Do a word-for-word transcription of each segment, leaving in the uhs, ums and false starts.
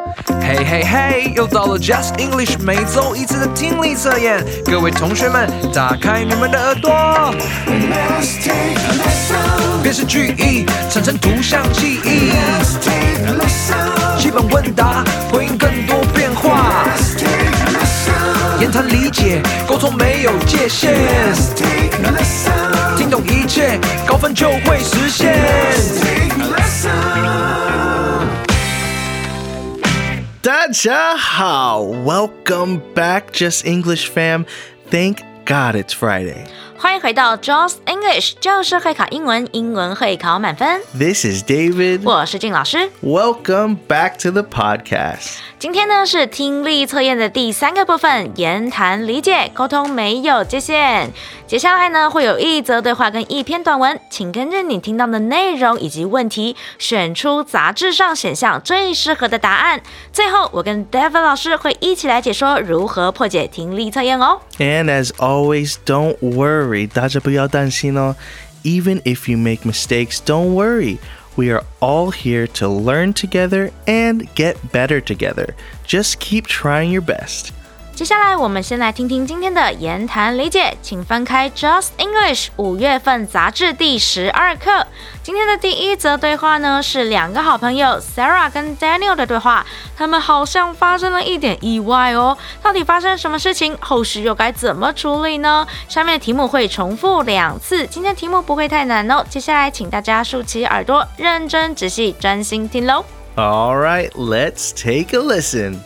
嘿嘿嘿，又到了 Just English 每周一次的听力测验，各位同学们，打开你们的耳朵。辨识句意，产生图像记忆。基本问答，回应更多变化。言谈理解，沟通没有界限。听懂一切，高分就会实现。 大家好 Welcome back, Just English fam. Thank God it's Friday. 欢迎回到 Just English， 就是会考英文，英文会考满分。 This is David. 我是静老师。 Welcome back to the podcast. 今天呢是听力测验的第三个部分，言谈理解，沟通没有界限。接下来呢会有一则对话跟一篇短文，请根据你听到的内容以及问题，选出杂志上选项最适合的答案。最后我跟 David 老师会一起来解说如何破解听力测验哦。 And as always, don't worry. 大家不要担心哦。Even if you make mistakes, don't worry. We are all here to learn together and get better together. Just keep trying your best. 接下来我们先来听听今天的言谈理解，请翻开 Just English 五月份杂志第十二课。今天的第一则对话呢是两个好朋友 Sarah 跟 Daniel 的对话，他们好像发生了一点意外哦，到底发生什么事情？后续又该怎么处理呢？下面的题目会重复两次，今天题目不会太难哦。接下来请大家竖起耳朵，认真仔细专心听咯。 All right, let's take a listen.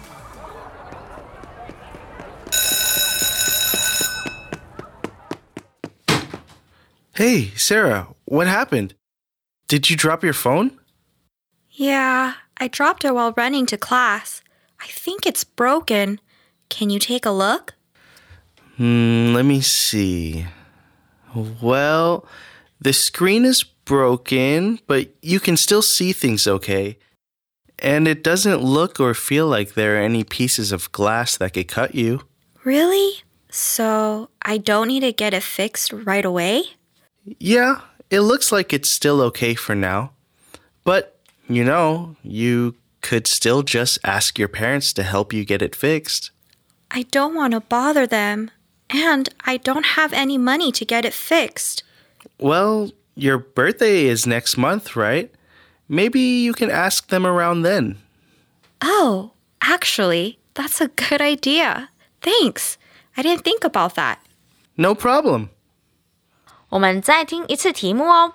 Hey, Sarah, what happened? Did you drop your phone? Yeah, I dropped it while running to class. I think it's broken. Can you take a look? Hmm, let me see. Well, the screen is broken, but you can still see things okay. And it doesn't look or feel like there are any pieces of glass that could cut you. Really? So I don't need to get it fixed right away? Yeah, it looks like it's still okay for now. But, you know, you could still just ask your parents to help you get it fixed. I don't want to bother them. And I don't have any money to get it fixed. Well, your birthday is next month, right? Maybe you can ask them around then. Oh, actually, that's a good idea. Thanks. I didn't think about that. No problem. 我们再听一次题目哦。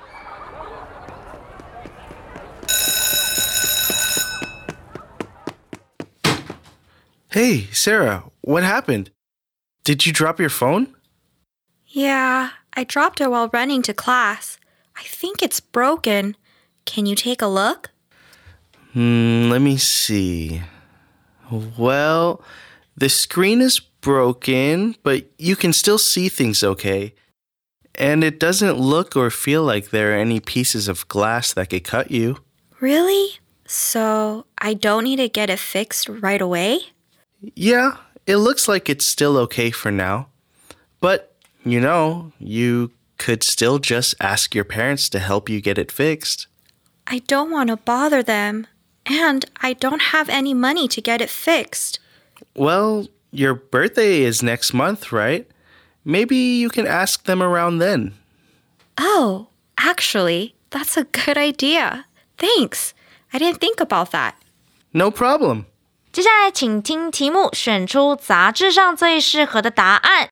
Hey, Sarah, what happened? Did you drop your phone? Yeah, I dropped it while running to class. I think it's broken. Can you take a look? Hmm, let me see. Well, the screen is broken, but you can still see things okay. And it doesn't look or feel like there are any pieces of glass that could cut you. Really? So I don't need to get it fixed right away? Yeah, it looks like it's still okay for now. But, you know, you could still just ask your parents to help you get it fixed. I don't want to bother them. And I don't have any money to get it fixed. Well, your birthday is next month, right? Maybe you can ask them around then. Oh, actually, that's a good idea. Thanks. I didn't think about that. No problem. 接下来请听题目，选出杂志上最适合的答案。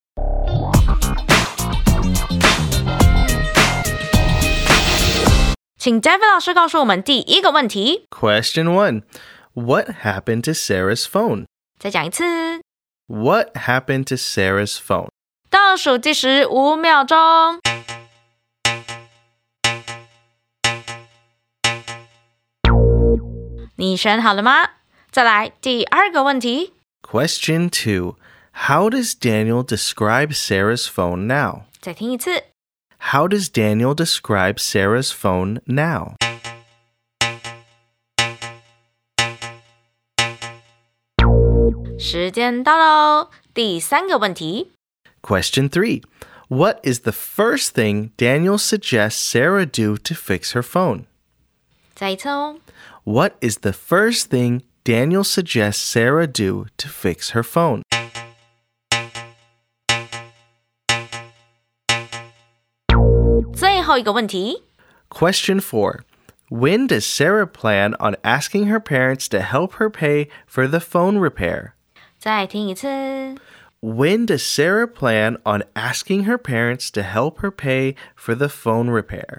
请 David 老师告诉我们第一个问题。 Question one. What happened to Sarah's phone? 再讲一次。 What happened to Sarah's phone? 倒数计时五秒钟。你选好了吗？再来第二个问题。 Question two. How does Daniel describe Sarah's phone now? 再听一次。 How does Daniel describe Sarah's phone now? 时间到喽，第三个问题。 Question three. What is the first thing Daniel suggests Sarah do to fix her phone? 再一次哦。 What is the first thing Daniel suggests Sarah do to fix her phone? Question four. When does Sarah plan on asking her parents to help her pay for the phone repair? 再听一次 When does Sarah plan on asking her parents to help her pay for the phone repair?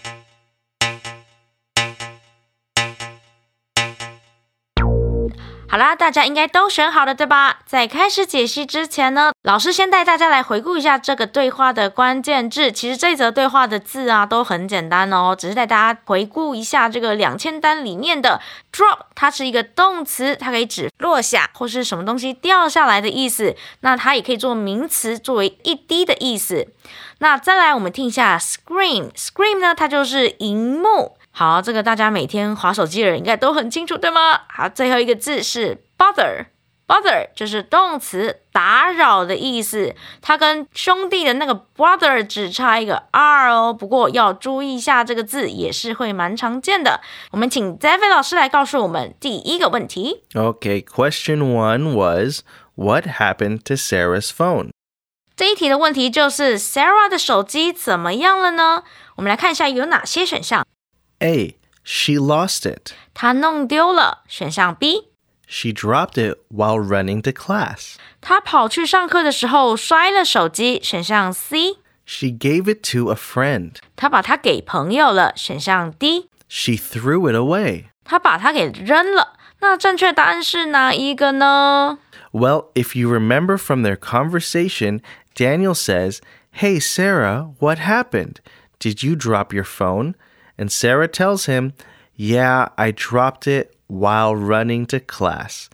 好啦，大家应该都选好了，对吧？在开始解析之前呢，老师先带大家来回顾一下这个对话的关键字。其实这则对话的字啊都很简单哦，只是带大家回顾一下这个两千单里面的 drop， 它是一个动词，它可以指落下或是什么东西掉下来的意思。那它也可以做名词，作为一滴的意思。那再来我们听一下 screen， screen 呢它就是萤幕。好，这个大家每天滑手机的人应该都很清楚，对吗？好，最后一个字是 bother， bother 就是动词打扰的意思，它跟兄弟的那个 brother 只差一个 r 哦，不过要注意一下这个字也是会蛮常见的。我们请 David 老师来告诉我们第一个问题。 Okay, question one was, what happened to Sarah's phone? 这一题的问题就是 Sarah 的手机怎么样了呢？我们来看一下有哪些选项。 A. She lost it. 她弄丢了。选项 B. She dropped it while running to class. 她跑去上课的时候摔了手机。选项 C. She gave it to a friend. 她把它给朋友了。选项 D. She threw it away. 她把它给扔了。那正确答案是哪一个呢？ Well, if you remember from their conversation, Daniel says, Hey, Sarah, what happened? Did you drop your phone?And Sarah tells him, Yeah, I dropped it while running to class.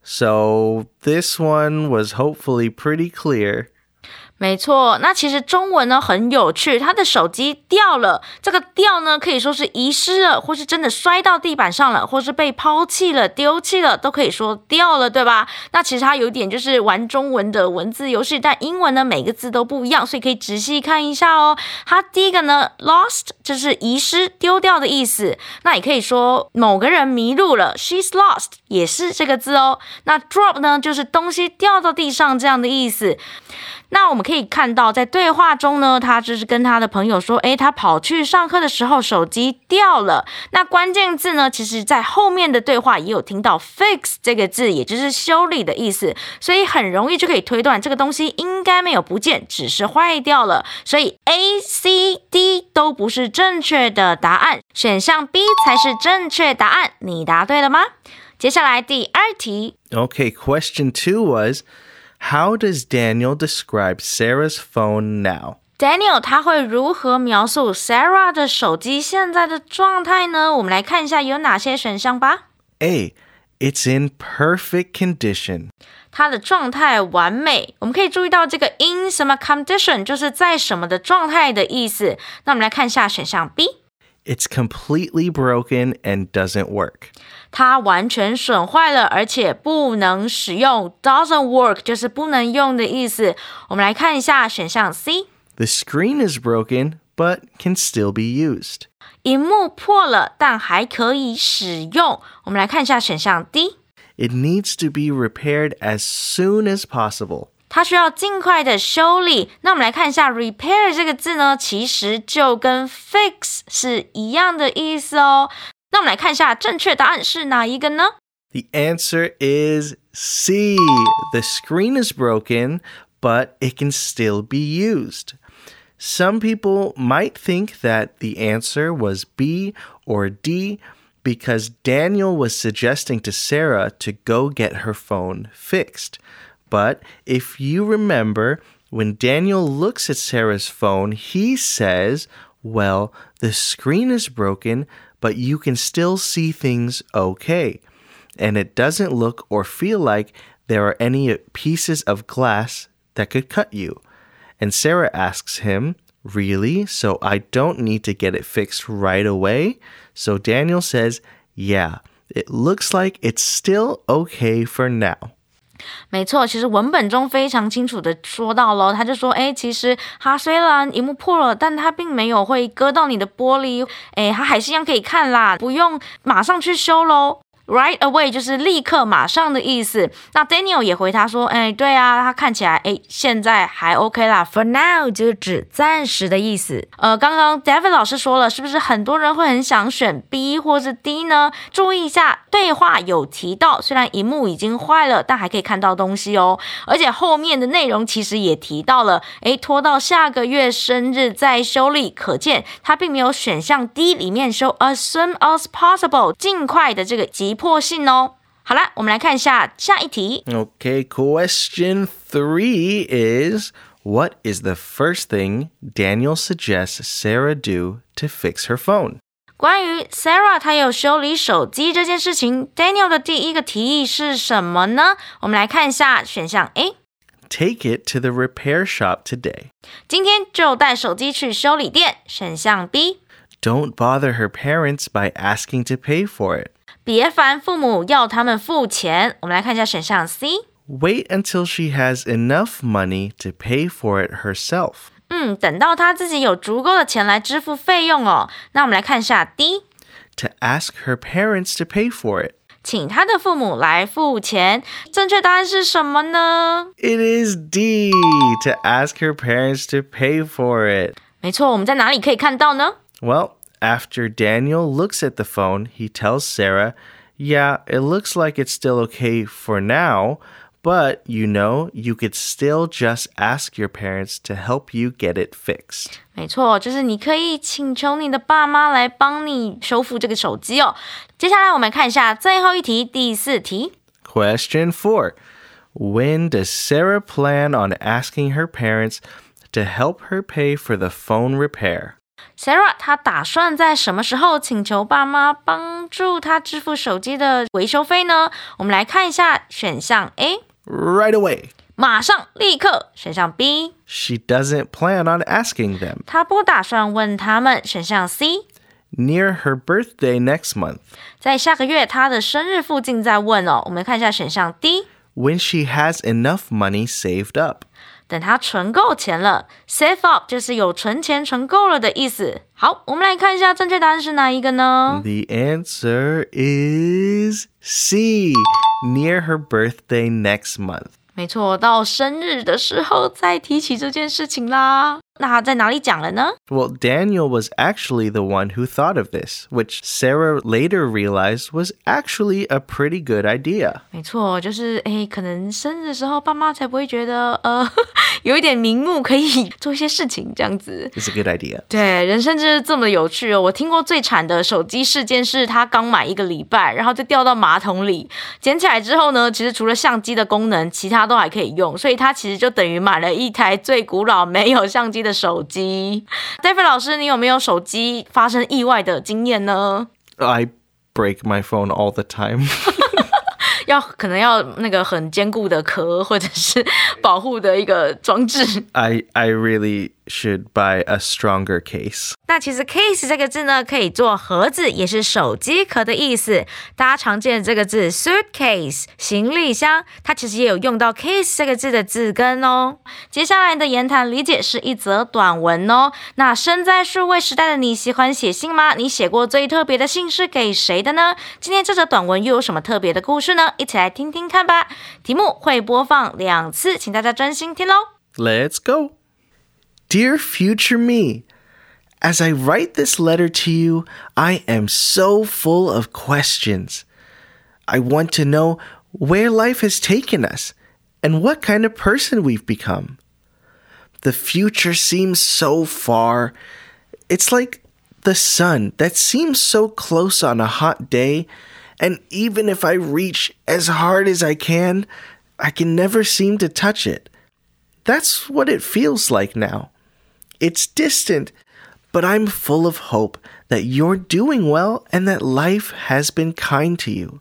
So this one was hopefully pretty clear. 没错，那其实中文呢很有趣，他的手机掉了，这个掉呢可以说是遗失了，或是真的摔到地板上了，或是被抛弃了、丢弃了，都可以说掉了，对吧？那其实它有点就是玩中文的文字游戏，但英文呢每个字都不一样，所以可以仔细看一下哦。它第一个呢 lost 就是遗失、丢掉的意思，那也可以说某个人迷路了 ，she's lost 也是这个字哦。那 drop 呢就是东西掉到地上这样的意思。那我们可以看到在对话中呢，他就是跟他的朋友说，诶，他跑去上课的时候手机掉了。那关键字呢，其实在后面的对话也有听到 fix 这个字，也就是修理的意思，所以很容易就可以推断这个东西应该没有不见，只是坏掉了。所以 A、C、D 都不是正确的答案，选项 B 才是正确答案。你答对了吗？接下来第二题。 Okay, question two was,How does Daniel describe Sarah's phone now? Daniel 他会如何描述 Sarah 的手机现在的状态呢？我们来看一下有哪些选项吧。 A. It's in perfect condition. 它的状态完美。我们可以注意到这个 in 什么 condition 就是在什么的状态的意思。那我们来看一下选项 B。It's completely broken and doesn't work. 它完全损坏了，而且不能使用。Doesn't work 就是不能用的意思。我们来看一下选项 C。The screen is broken, but can still be used. 萤幕破了，但还可以使用。我们来看一下选项 D。It needs to be repaired as soon as possible. 它需要尽快的修理。那我们来看一下 repair 这个字呢，其实就跟 fix 是一样的意思哦。那我们来看一下正确答案是哪一个呢？ The answer is C. The screen is broken, but it can still be used. Some people might think that the answer was B or D because Daniel was suggesting to Sarah to go get her phone fixed.But if you remember, when Daniel looks at Sarah's phone, he says, well, the screen is broken, but you can still see things okay. And it doesn't look or feel like there are any pieces of glass that could cut you. And Sarah asks him, really? So I don't need to get it fixed right away? So Daniel says, yeah, it looks like it's still okay for now. 没错，其实文本中非常清楚的说到咯，他就说，诶，其实它虽然萤幕破了，但它并没有会割到你的玻璃，诶，它还是一样可以看啦，不用马上去修咯。Right away 就是立刻马上的意思。那 Daniel 也回他说，哎，对啊，他看起来哎现在还 OK 啦。For now 就是指暂时的意思。呃，刚刚 David 老师说了，是不是很多人会很想选 B 或是 D 呢？注意一下，对话有提到，虽然萤幕已经坏了，但还可以看到东西哦。而且后面的内容其实也提到了，哎，拖到下个月生日再修理，可见他并没有选项 D 里面说 as soon as possible 尽快的这个急迫性哦。好啦，我们来看一下下一题。 Okay, question three is, what is the first thing Daniel suggests Sarah do to fix her phone? 关于 Sarah 她有修理手机这件事情， Daniel 的第一个提议是什么呢？我们来看一下选项 A， Take it to the repair shop today. 今天就带手机去修理店。选项 B， Don't bother her parents by asking to pay for it. 别烦父母要他们付钱。我们来看一下选项 C， Wait until she has enough money to pay for it herself. 嗯，等到她自己有足够的钱来支付费用哦。那我们来看一下 D， To ask her parents to pay for it. 请她的父母来付钱。正确答案是什么呢？ It is D, to ask her parents to pay for it. 没错，我们在哪里可以看到呢？ Well, after Daniel looks at the phone, he tells Sarah, yeah, it looks like it's still okay for now, but you know, you could still just ask your parents to help you get it fixed. 没错，就是你可以请求你的爸妈来帮你修复这个手机哦。接下来我们看一下最后一题，第四题。 Question four. When does Sarah plan on asking her parents to help her pay for the phone repair? Sarah 她打算在什么时候请求爸妈帮助她支付手机的维修费呢？我们来看一下选项 A， Right away. 马上立刻。选项 B， She doesn't plan on asking them. 她不打算问他们。选项 C， Near her birthday next month. 在下个月她的生日附近再问哦。我们看一下选项 D， When she has enough money saved up. 等她存够钱了。 Save up 就是有存钱存够了的意思。好，我们来看一下正确答案是哪一个呢？ The answer is C. Near her birthday next month. 没错，到生日的时候再提起这件事情啦。那他在哪里讲了呢？ Well, Daniel was actually the one who thought of this, which Sarah later realized was actually a pretty good idea. 没错，就是诶，可能生日的时候爸妈才不会觉得呃有一点名目可以做一些事情这样子。 It's a good idea. 对，人生就是这么有趣哦。我听过最惨的手机事件是他刚买一个礼拜，然后就掉到马桶里，捡起来之后呢，其实除了相机的功能，其他都还可以用，所以他其实就等于买了一台最古老没有相机的手机。David 老师，你有没有手机发生意外的经验呢？ I break my phone all the time. 要可能要那个很坚固的壳，或者是保护的一个装置。 I I really should buy a stronger case. 那其实 case 这个字呢，可以做盒子，也是手机壳的意思。大家常见的这个字 suitcase 行李箱，它其实也有用到 case 这个字的字根哦。接下来的言谈理解是一则短文哦。那身在数位时代的你，喜欢写信吗？你写过最特别的信是给谁的呢？今天这则短文又有什么特别的故事呢？一起来听听看吧。题目会播放两次，请大家专心听咯。 Let's go. Dear future me, as I write this letter to you, I am so full of questions. I want to know where life has taken us and what kind of person we've become. The future seems so far. It's like the sun that seems so close on a hot day, and even if I reach as hard as I can, I can never seem to touch it. That's what it feels like now. It's distant, but I'm full of hope that you're doing well and that life has been kind to you.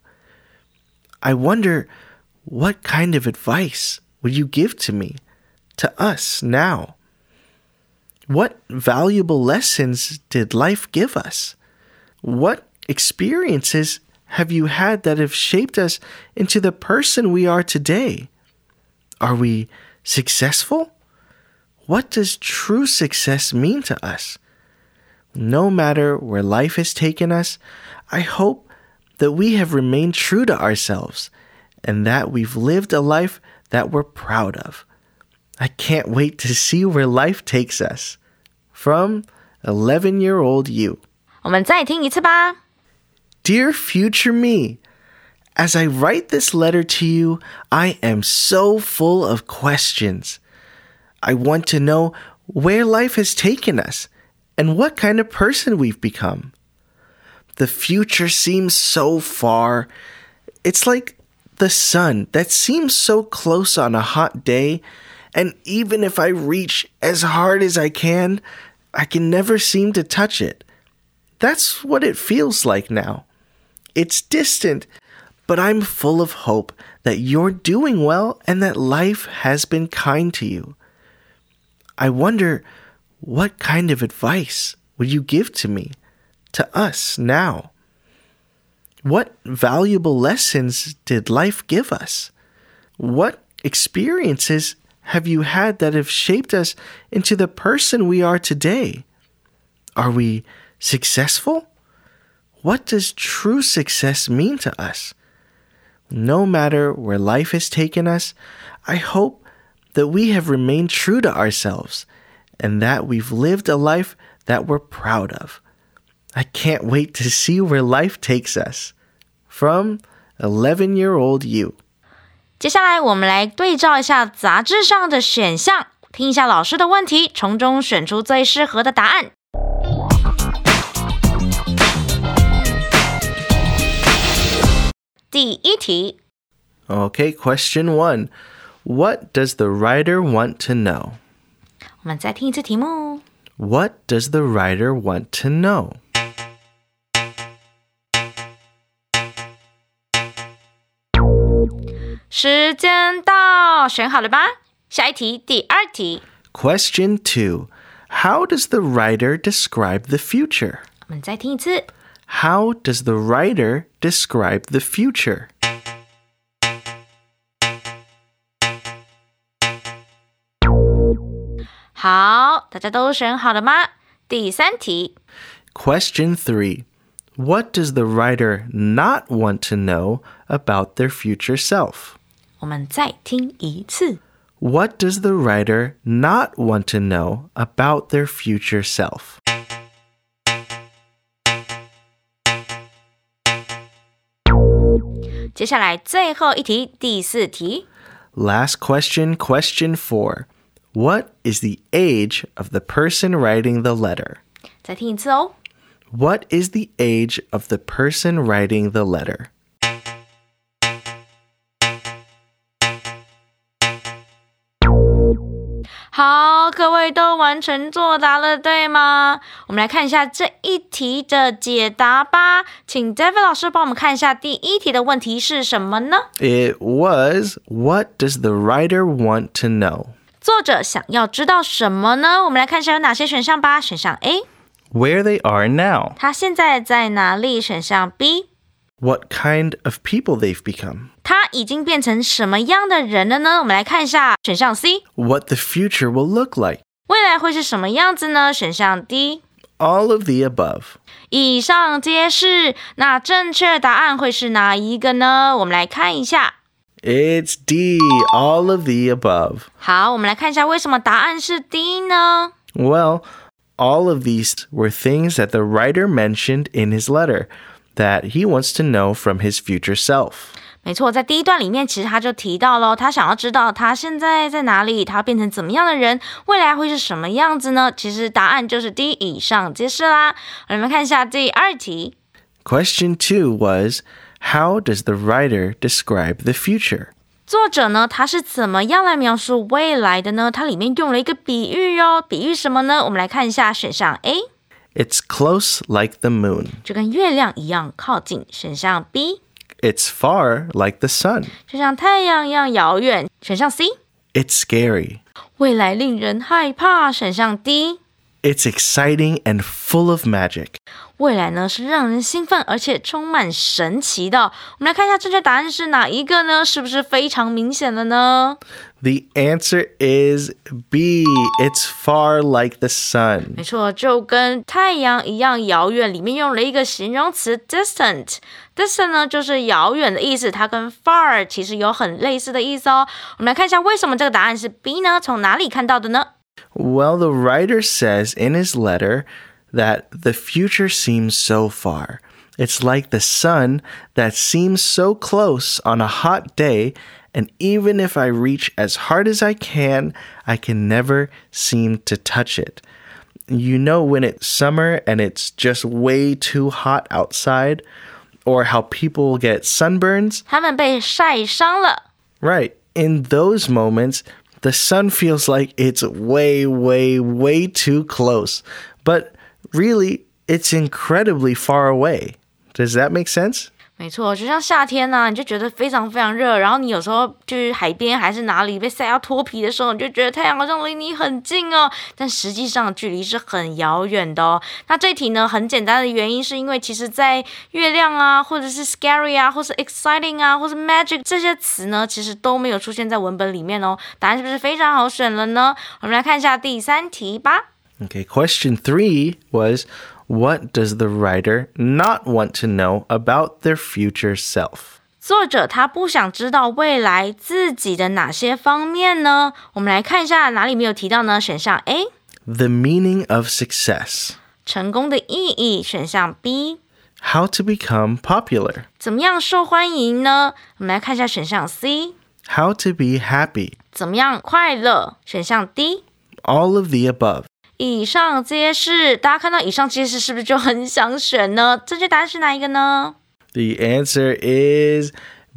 I wonder, what kind of advice would you give to me, to us now? What valuable lessons did life give us? What experiences have you had that have shaped us into the person we are today? Are we successful? What does true success mean to us? No matter where life has taken us, I hope that we have remained true to ourselves and that we've lived a life that we're proud of. I can't wait to see where life takes us. From eleven-year-old you. 我们再听一次吧。 Dear future me, as I write this letter to you, I am so full of questions. I want to know where life has taken us and what kind of person we've become. The future seems so far. It's like the sun that seems so close on a hot day, and even if I reach as hard as I can, I can never seem to touch it. That's what it feels like now. It's distant, but I'm full of hope that you're doing well and that life has been kind to you. I wonder, what kind of advice would you give to me, to us now? What valuable lessons did life give us? What experiences have you had that have shaped us into the person we are today? Are we successful? What does true success mean to us? No matter where life has taken us, I hope that we have remained true to ourselves and that we've lived a life that we're proud of. I can't wait to see where life takes us. From eleven-year-old you. 接下来我们来对照一下杂志上的选项，听一下老师的问题，从中选出最适合的答案。第一题。 Okay, question one. What does the writer want to know? 我们再听一次题目。 What does the writer want to know? 时间到，选好了吧？下一题，第二题。 Question two. How does the writer describe the future? 我们再听一次。 How does the writer describe the future? 好，大家都选好了吗？第三题。 Question three. What does the writer not want to know about their future self? 我们再听一次。 What does the writer not want to know about their future self? 接下来最后一题，第四题。 Last question, question four. What is the age of the person writing the letter? 再听一次哦。 What is the age of the person writing the letter? 好，各位都完成作答了，对吗？我们来看一下这一题的解答吧。请 David 老师帮我们看一下第一题的问题是什么呢？ It was, what does the writer want to know? 作者想要知道什么呢？我们来看一下有哪些选项吧。选项 A， Where they are now. 他现在在哪里？选项 B， What kind of people they've become. 他已经变成什么样的人了呢？我们来看一下选项 C， What the future will look like. 未来会是什么样子呢？选项 D， All of the above. 以上皆是。那正确答案会是哪一个呢？我们来看一下。 It's D, all of the above. 好，我们来看一下为什么答案是 D 呢？ Well, all of these were things that the writer mentioned in his letter that he wants to know from his future self. 没错，在第一段里面，其实他就提到了，他想要知道他现在在哪里，他变成怎么样的人，未来会是什么样子呢？其实答案就是 D， 以上皆是啦。我们看一下第二题。 Question two was, how does the writer describe the future? 作者呢，他是怎么样来描述未来的呢？它里面用了一个比喻哦，比喻什么呢？我们来看一下选项 A， It's close like the moon. 就跟月亮一样靠近。选项 B， It's far like the sun. 就像太阳一样遥远。选项 C， It's scary. 未来令人害怕。选项 D， It's exciting and full of magic. 未来呢是让人兴奋而且充满神奇的。我们来看一下正确答案是哪一个呢？是不是非常明显了呢？ The answer is B. It's far like the sun. 没错，就跟太阳一样遥远，里面用了一个形容词 distant。 distant 呢就是遥远的意思，它跟 far 其实有很类似的意思哦。我们来看一下为什么这个答案是 B 呢？从哪里看到的呢？ Well, the writer says in his letter that the future seems so far. It's like the sun that seems so close on a hot day, and even if I reach as hard as I can, I can never seem to touch it. You know when it's summer and it's just way too hot outside, or how people get sunburns? 他们被晒伤了。 Right. In those moments, the sun feels like it's way, way, way too close. But really, it's incredibly far away. Does that make sense? 没错，就像夏天呢、啊，你就觉得非常非常热，然后你有时候就是海边还是哪里被晒要脱皮的时候，你就觉得太阳好像离你很近哦，但实际上距离是很遥远的哦。那这题呢，很简单的原因是因为其实在月亮啊，或者是 scary 啊，或是 exciting 啊，或是 magic 这些词呢，其实都没有出现在文本里面哦。答案是不是非常好选了呢？我们来看一下第三题吧。 Okay, question three was...What does the writer not want to know about their future self? 作者他不想知道未来自己的哪些方面呢？我们来看一下哪里没有提到呢？选项 A The meaning of success. 成功的意义，选项 B How to become popular. 怎么样受欢迎呢？我们来看一下选项 C How to be happy. 怎么样快乐，选项 D All of the above. 以上皆是。大家看到以上皆是是不是就很想选呢？正确答案是哪一个呢？ The answer is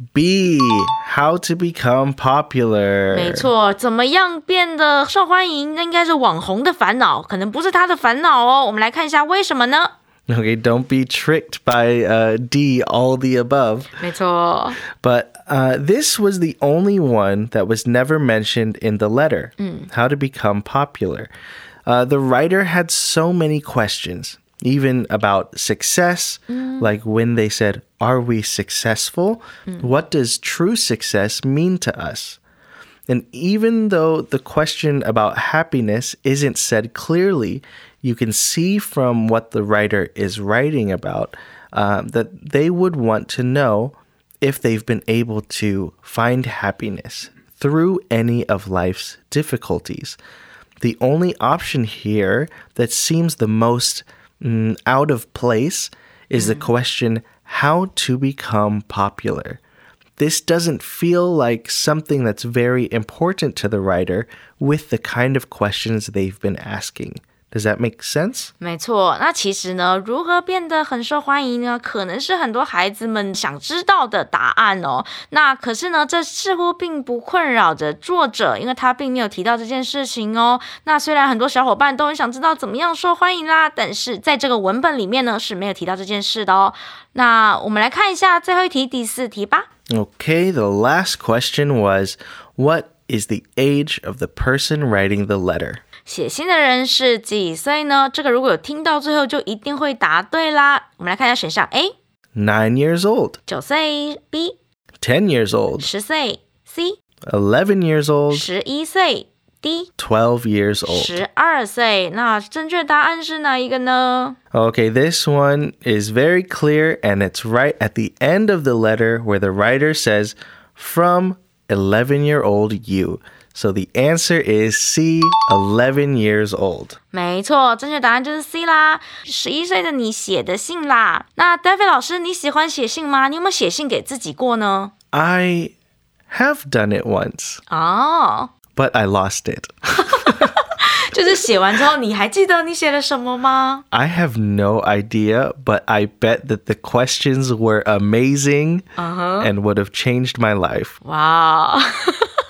B. How to become popular. 没错，怎么样变得受欢迎，那应该是网红的烦恼，可能不是他的烦恼哦。我们来看一下为什么呢？ Okay, don't be tricked by uh, D, all the above. 没错。 But uh, this was the only one that was never mentioned in the letter. How to become popular.Uh, the writer had so many questions, even about success, mm. like when they said, are we successful? Mm. What does true success mean to us? And even though the question about happiness isn't said clearly, you can see from what the writer is writing about uh, that they would want to know if they've been able to find happiness through any of life's difficulties.The only option here that seems the most mm, out of place is mm. the question, how to become popular. This doesn't feel like something that's very important to the writer with the kind of questions they've been asking.Does that make sense? 没错，那其实呢，如何变得很受欢迎呢？可能是很多孩子们想知道的答案哦。那可是呢，这似乎并不困扰着作者，因为他并没有提到这件事情哦。那虽然很多小伙伴都很想知道怎么样受欢迎啦，但是在这个文本里面呢是没有提到这件事的哦。那我们来看一下最后一题，第四题吧。 Okay, the last question was, what is the age of the person writing the letter? 写信的人是几岁呢？这个如果有听到最后就一定会答对啦。我们来看一下选项 A Nine years old. 九岁 B Ten years old. 十岁 C Eleven years old. 十一岁 D Twelve years old. 十二岁。那正确答案是哪一个呢？ Okay, this one is very clear and it's right at the end of the letter where the writer says, from eleven-year-old you.So the answer is C, eleven years old. 没错，正确答案就是 C 啦，十一岁的你写的信啦。那 David 老师，你喜欢写信吗？你有没有写信给自己过呢？ I have done it once. 哦、 But I lost it. 就是写完之后，你还记得你写了什么吗？ I have no idea, but I bet that the questions were amazing、uh-huh. and would have changed my life. 哇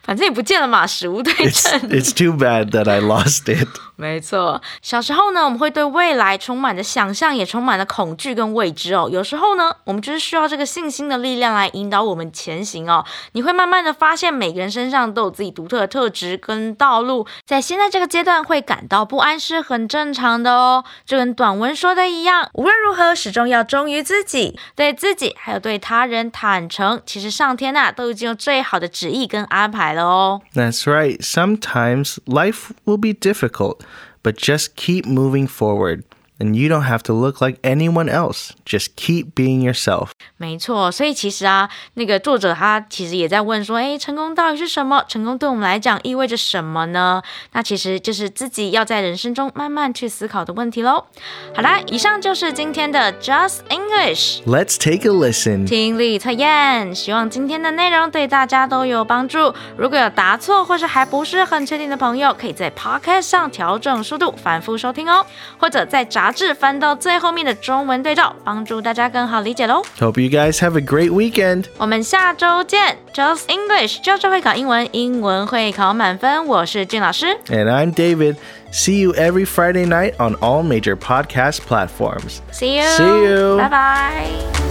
反正也不见了嘛，死无对 It's, 证。 it's too bad that I lost it. 没错，小时候呢，我们会对未来充满着想象，也充满了恐惧跟未知哦。有时候呢，我们就是需要这个信心的力量来引导我们前行哦。你会慢慢的发现，每个人身上都有自己独特的特质跟道路，在现在这个阶段会感到不安是很正常的哦。就跟短文说的一样，无论如何，始终要忠于自己，对自己还有对他人坦诚。其实上天啊，都已经有最好的旨意跟安排了哦。 That's right. Sometimes life will be difficult, but just keep moving forward. And you don't have to look like anyone else. Just keep being yourself. 没错，所以其实啊，那个作者他其实也在问说，诶，成功到底是什么？成功对我们来讲意味着什么呢？那其实就是自己要在人生中慢慢去思考的问题咯。好啦，以上就是今天的 Just English Let's take a listen. 听力测验，希望今天的内容对大家都有帮助。如果有答错或是还不是很确定的朋友，可以在 Podcast 上调整速度，反复收听哦，或者在杂志翻到最后面的中文对照，帮助大家更好理解咯。 Hope you guys have a great weekend. 我们下周见 Just English 教授会考英文，英文会考满分。我是俊老师 And I'm David. See you every Friday night on all major podcast platforms. See you See you. 拜拜。